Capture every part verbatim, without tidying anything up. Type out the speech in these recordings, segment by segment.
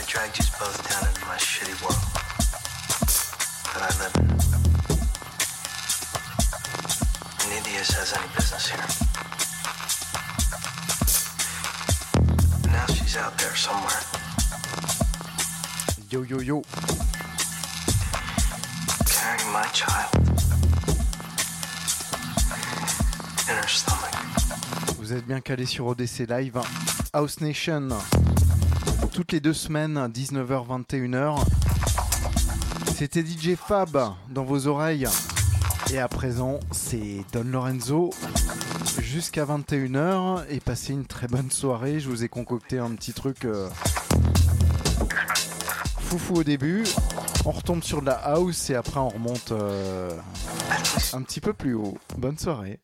dragged you both down into my shitty world that I live in. Neither of you has any business here. And now she's out there somewhere. Yo yo yo. Carrying my child in her stomach. Vous êtes bien calés sur O D C Live. House Nation. Toutes les deux semaines, dix-neuf heures vingt et une heures. C'était D J Fab dans vos oreilles. Et à présent, c'est Don Lorenzo jusqu'à vingt et une heures. Et passez une très bonne soirée. Je vous ai concocté un petit truc euh, foufou au début. On retombe sur de la house et après on remonte euh, un petit peu plus haut. Bonne soirée.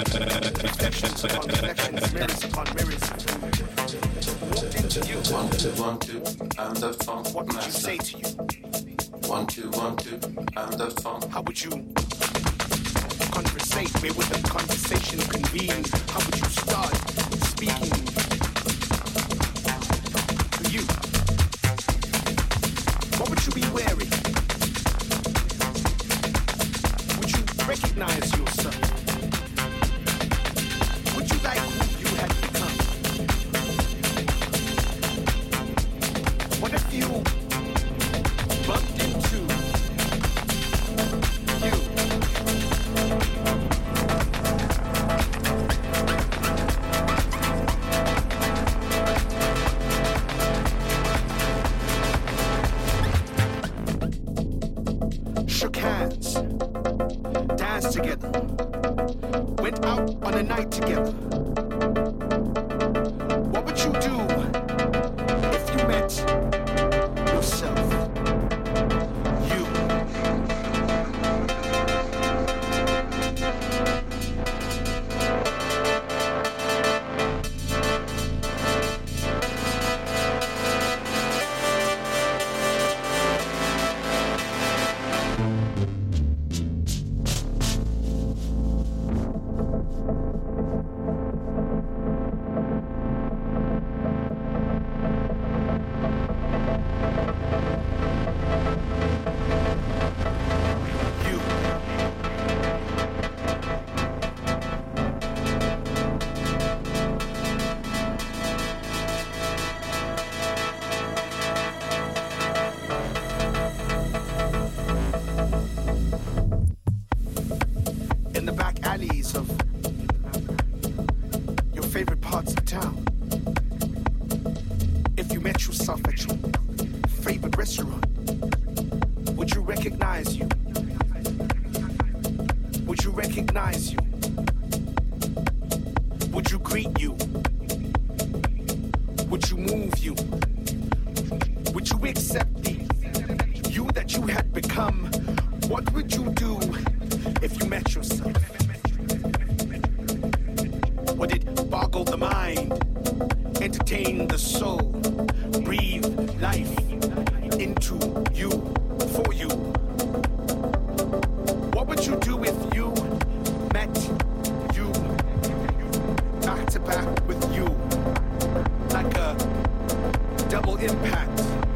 Reflections upon reflections, mirrors upon mirrors. Walked into you. One, two, one, two, I'm the funk What would you master. say to you? One, two, one, two, I'm the funk. How would you conversate? Where would the conversation convene? How would you start speaking to you? What would you be wearing? Would you recognize yourself? Would you like who you had become? What if you bumped into you? Shook hands, danced together, went out on a night together. What would you do if you met yourself? You. You. In the back alleys of your favorite parts of town, if you met yourself at your favorite restaurant, would you recognize you? Would you recognize you? Would you greet you? Would you move you? Would you accept the you that you had become? What would you do if you met yourself? Would it boggle the mind, entertain the soul, breathe life into you, for you? What would you do if you met you back to back with you, like a double impact,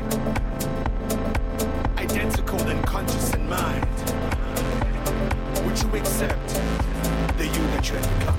identical in conscious and mind? Would you accept the you that you had become?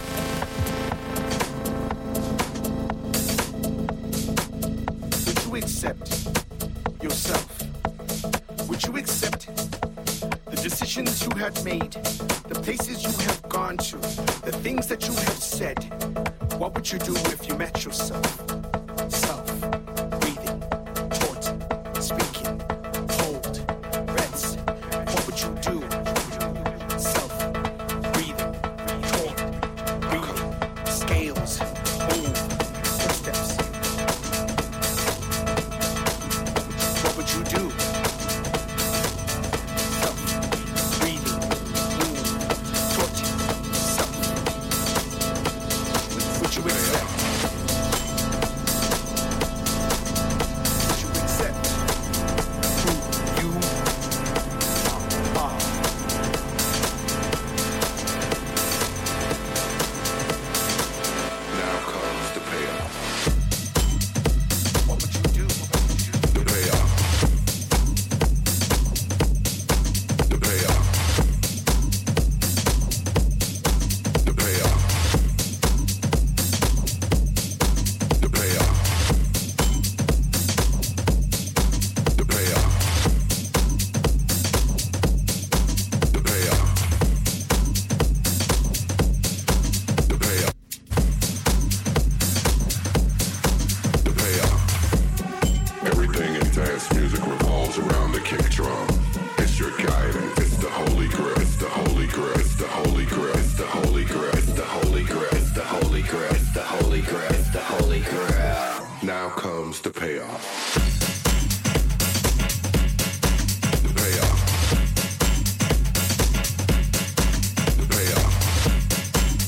Would you accept yourself? Would you accept the decisions you have made, the places you have gone to, the things that you have said? What would you do if you met yourself? Self, breathing, taught, speaking, hold, rest. What would you do? Self, breathing, taught, breathing, scales, move, footsteps. What would you do? Self, breathing, move, taught, self. Would you accept? Would you accept who you are? Now comes the payoff. What would you do? The payoff. The payoff. The payoff. The payoff. The payoff. The payoff. The payoff. The payoff. Everything in dance music revolves around the kick drum. It's your guidance. It's the holy grail. It's the holy grail. It's the holy grail. It's the holy grail. It's the holy grail. It's the holy grail. It's the holy grail. It's the holy grail. Now comes the payoff. The payoff. The payoff.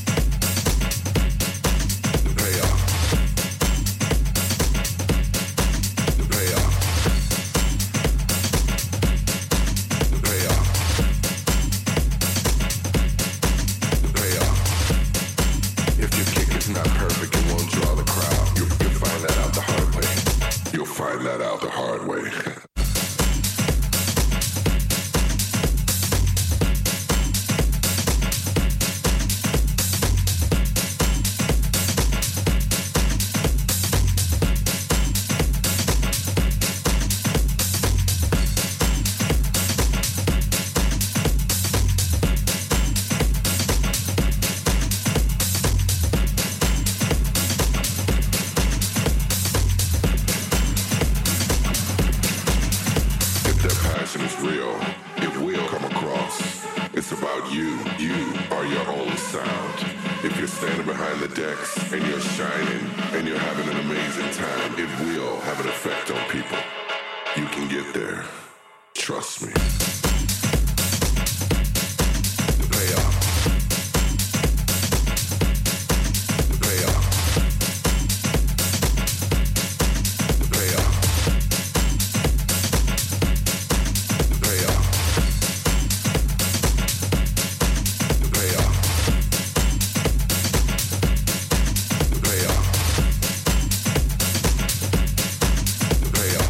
behind the decks and you're shining and you're having an amazing time, it will have an effect on people. You can get there. Trust me. The payoff. The payoff. The payoff. The payoff. The payoff. The payoff. The payoff.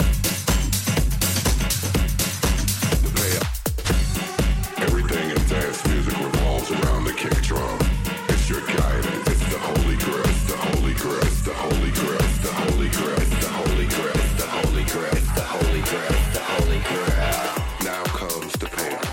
Everything in dance music revolves around the kick drum. It's your guidance. It's the holy grail. It's the holy grail. It's the holy grail. It's the holy grail. It's the holy grail. It's the holy grail. It's the holy grail. It's the holy grail. Now comes the payoff.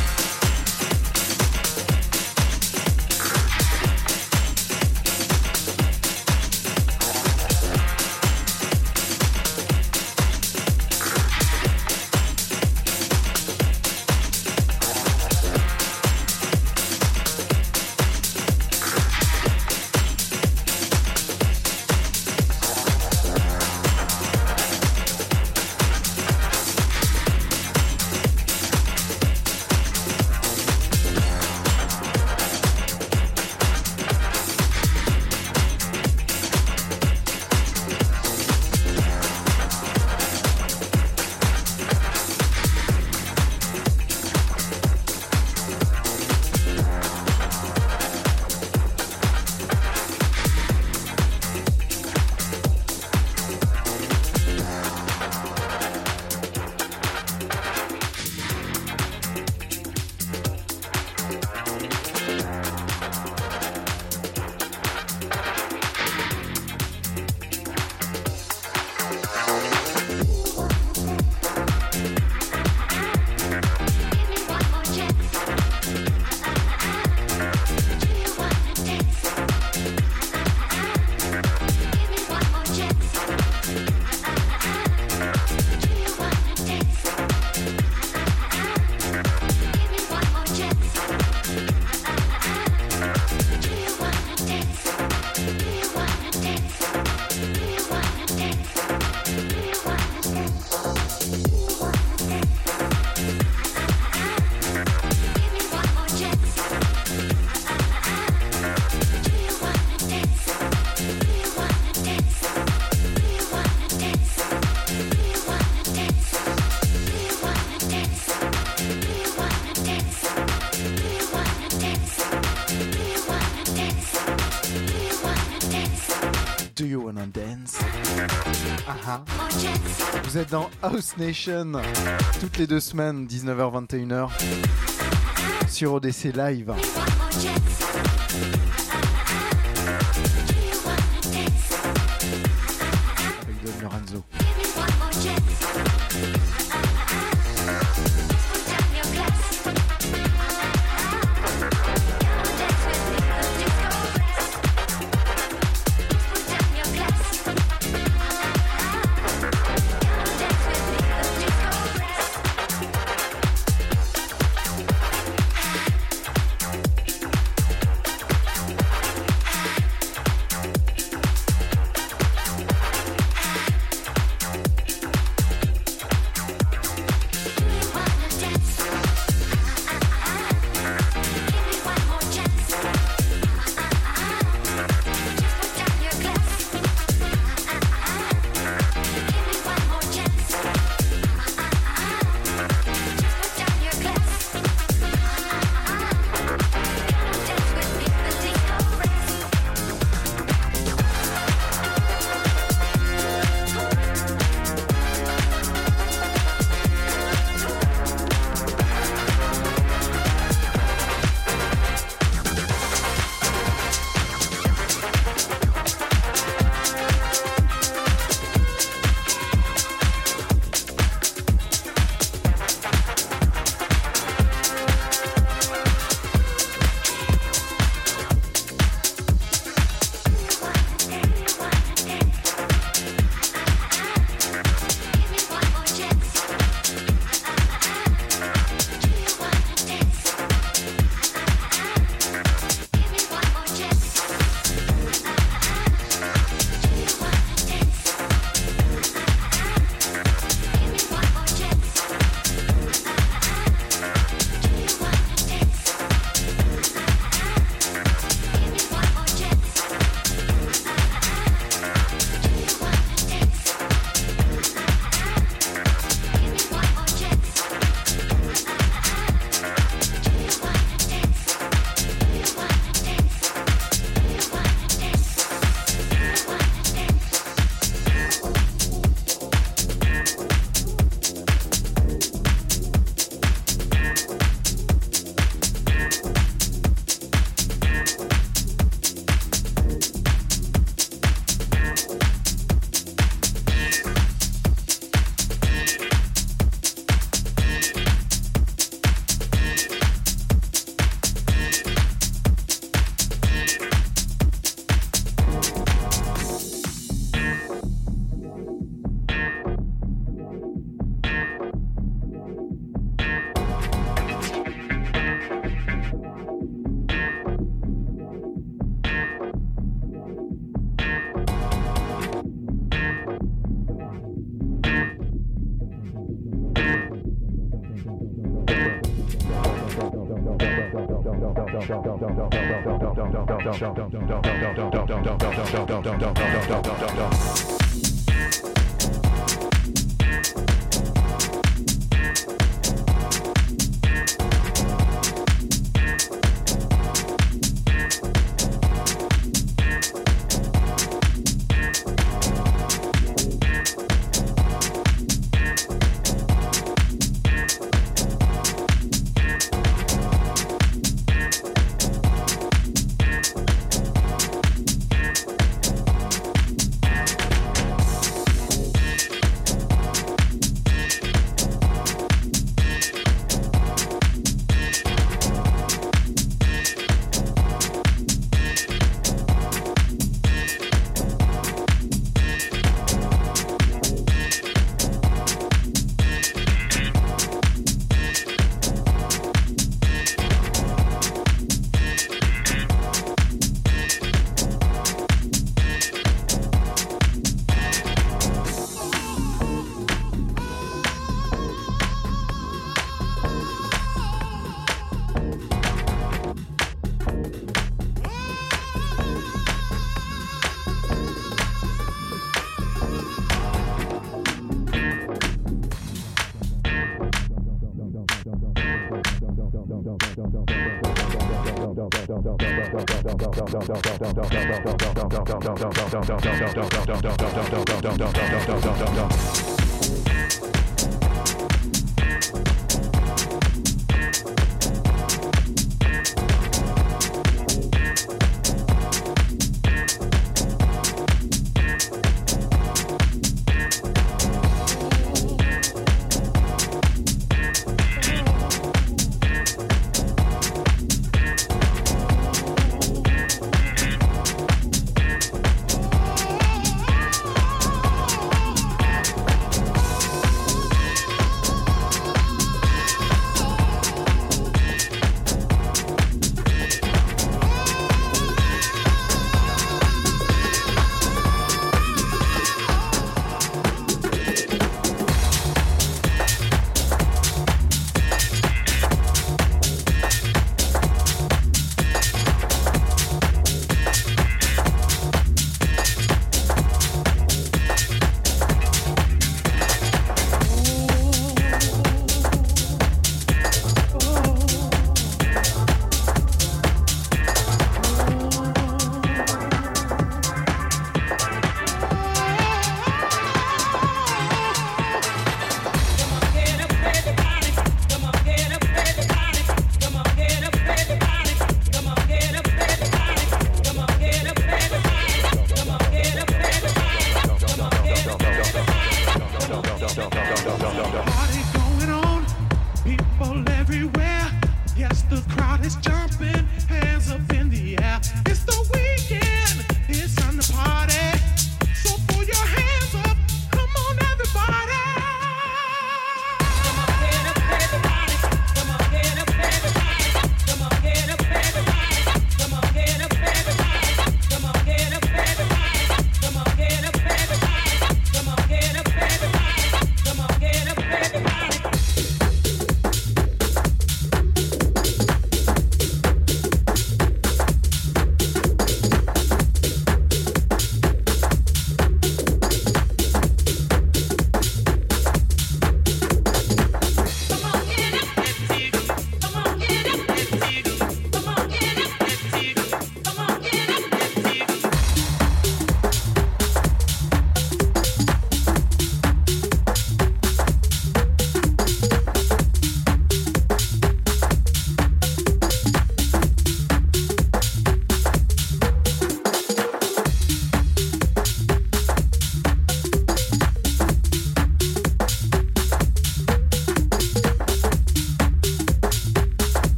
Do you wanna dance? Ah, vous êtes dans House Nation toutes les deux semaines, dix-neuf heures vingt et une heures sur O D C Live. Avec Don Lorenzo.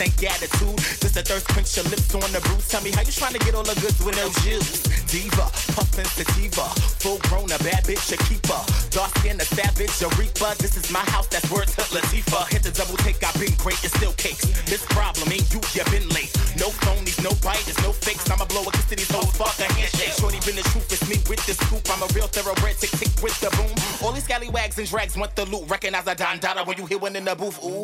stank attitude. Just a thirst quench your lips on the bruise. Tell me how you trying to get all the goods with no juice. Diva, puffin' sativa, full grown, a bad bitch, a keeper. Dark skin, a savage, a reaper. This is my house, that's word to Latifah. Hit the double take, I've been great, it's still cakes. This problem ain't you, you been late. No phonies, no biters, no fakes. I'ma blow a kiss to these hoes, fuck a handshake. Shorty been the truth, it's me with the scoop. I'm a real thoroughbred, tick tick with the boom. All these scallywags and drags want the loot. Recognize a Don Dada when you hear one in the booth. Ooh.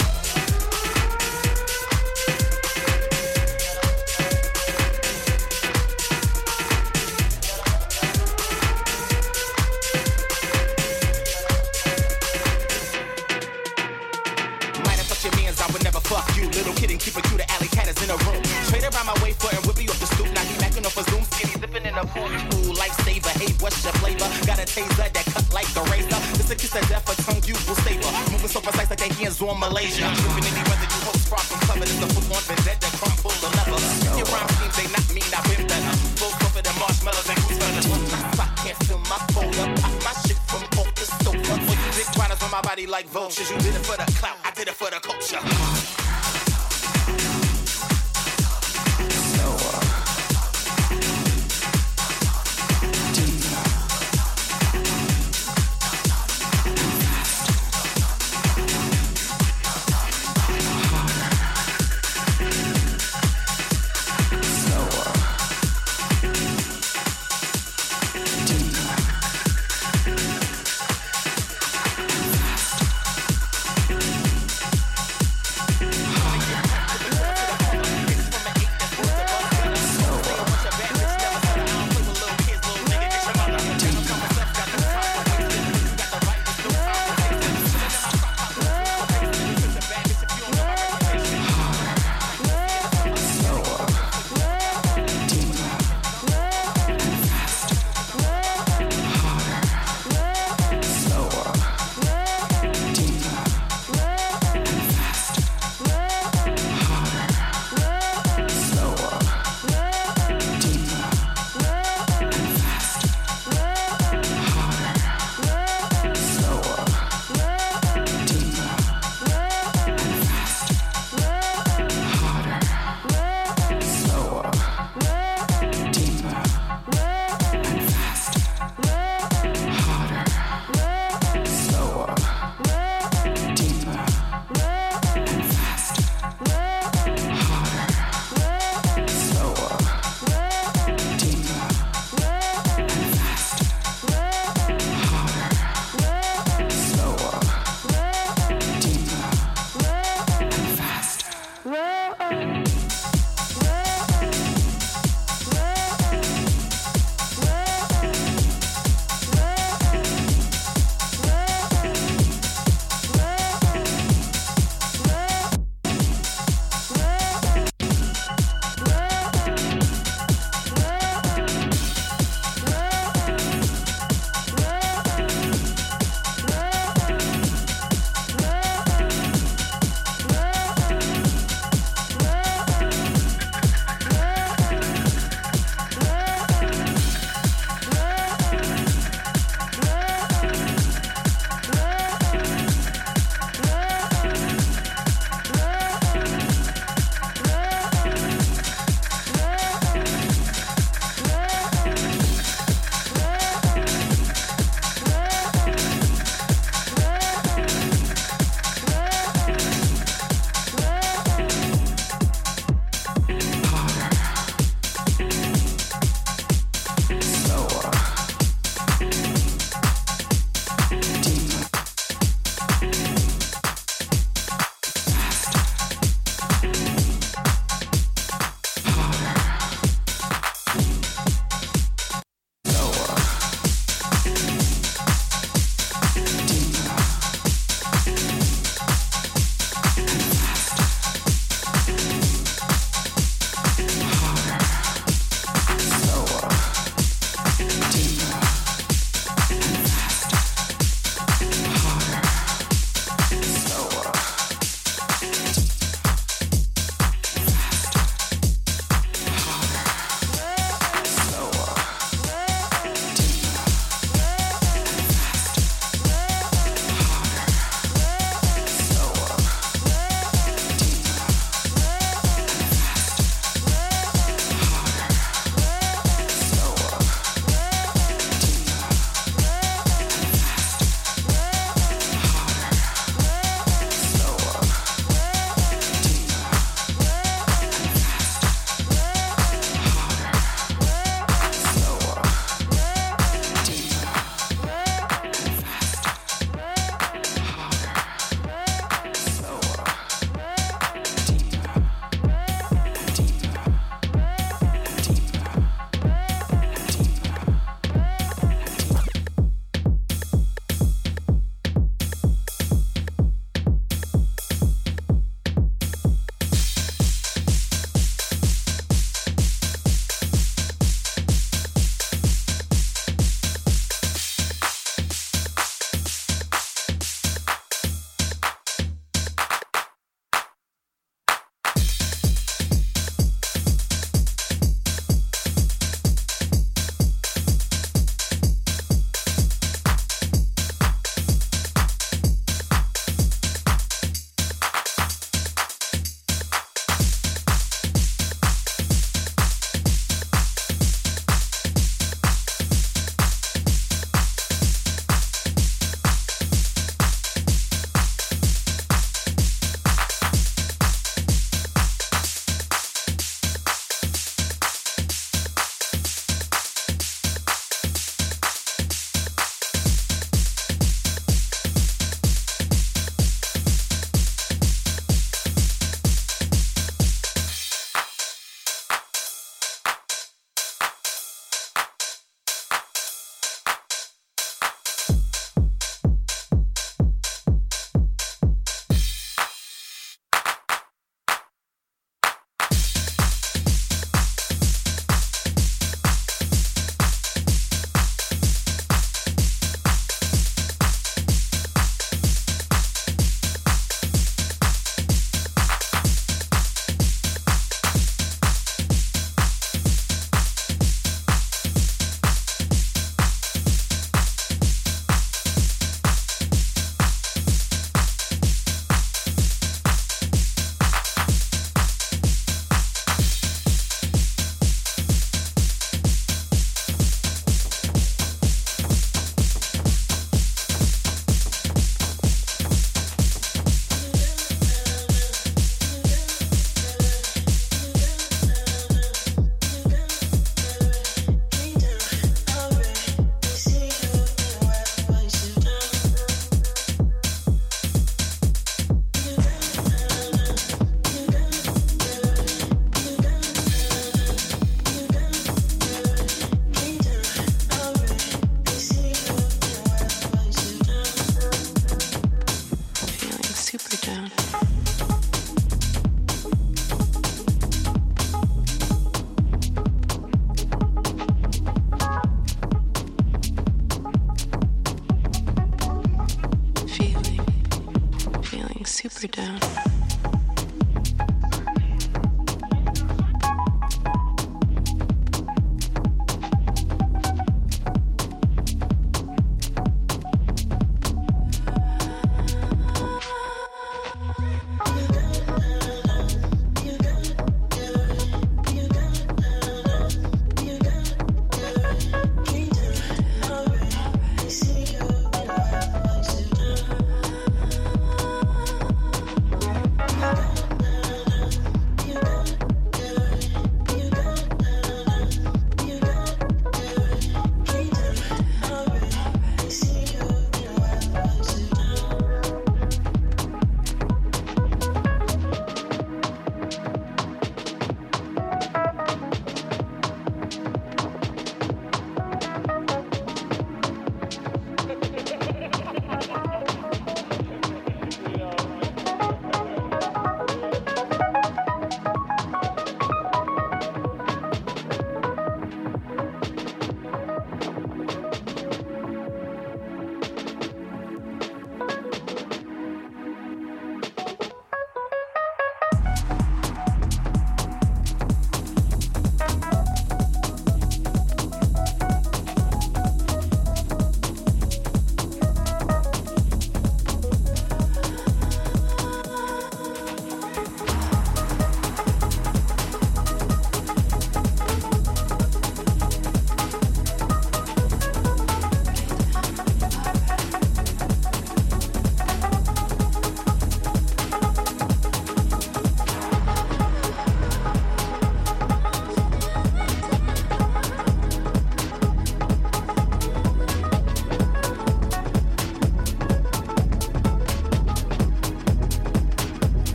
Fuck you, little kid and keep it cute, the alley cat is in a room. Trade around my way for and whip me off the stoop. Now he backing off a zoom, skinny zipping in a pool. Ooh, lifesaver, hey, what's your flavor? Got a taser that cut like a razor. This a kiss of death, a tongue you will savor. Moving so precise like they hands on Malaysia. Tripping any weather, you hope far from clever. This a foot on vendetta, crumb full of leather. Your rhyme schemes, they not mean, I've been better. Full tougher than marshmallows and goose feathers. I can't feel my folder, pop my shit from off the sofa. For you big riders on my body like vultures. You did it for the clout, I did it for the culture.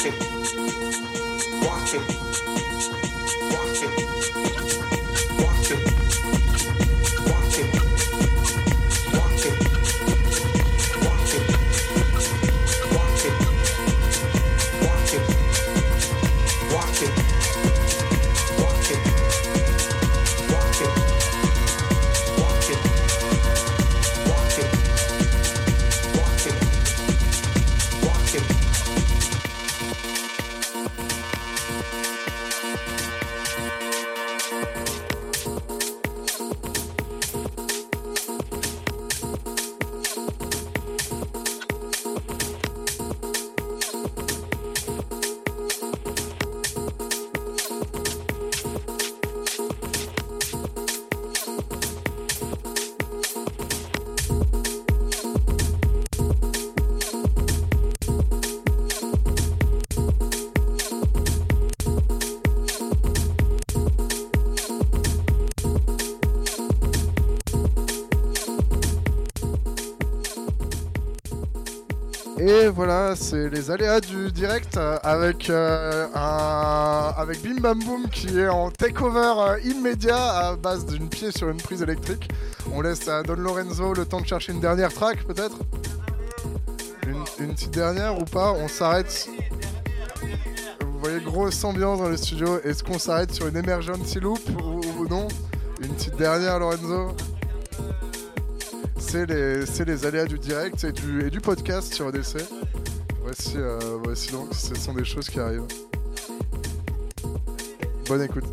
Et voilà, c'est les aléas du direct avec, euh, un, avec Bim Bam Boom qui est en takeover euh, immédiat à base d'une pied sur une prise électrique. On laisse à Don Lorenzo le temps de chercher une dernière track peut-être une, une petite dernière ou pas. On s'arrête. Vous voyez, grosse ambiance dans le studio. Est-ce qu'on s'arrête sur une emergency loop ou, ou non? Une petite dernière, Lorenzo? C'est les, c'est les aléas du direct et du, et du podcast sur O D C. Voici, euh, voici donc, ce sont des choses qui arrivent. Bonne écoute.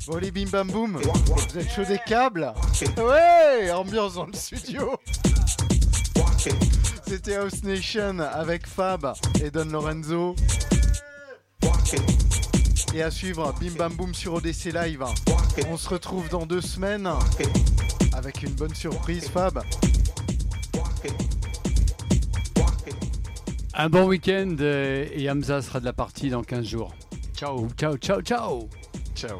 Bon les bim bam boum, vous êtes chaud des câbles? Ouais, ambiance dans le studio. C'était House Nation avec Fab et Don Lorenzo. Et à suivre, bim bam boum sur O D C Live. On se retrouve dans deux semaines avec une bonne surprise, Fab. Un bon week-end euh, et Hamza sera de la partie dans quinze jours. Ciao, ciao, ciao, ciao. Ciao.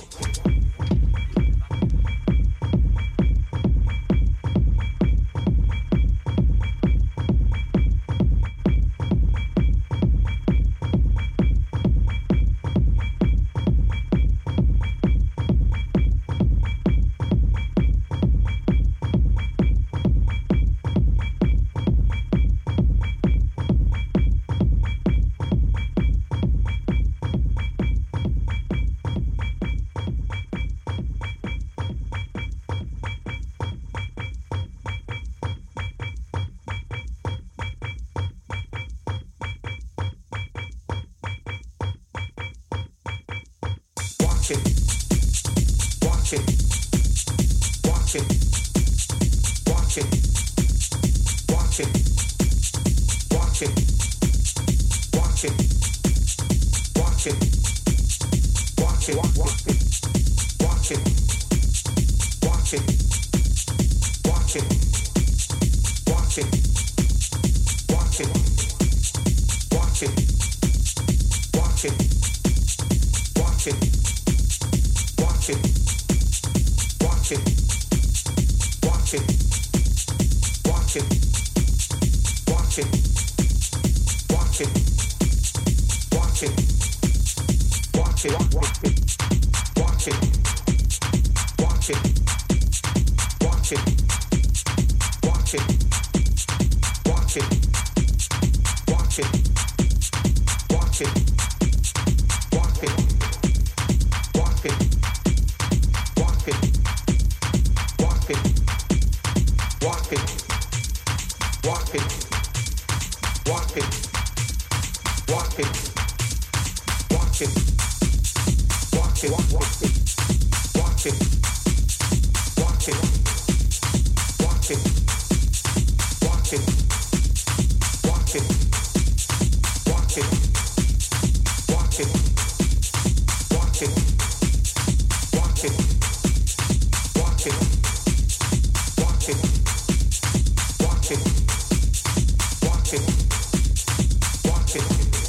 Watch it.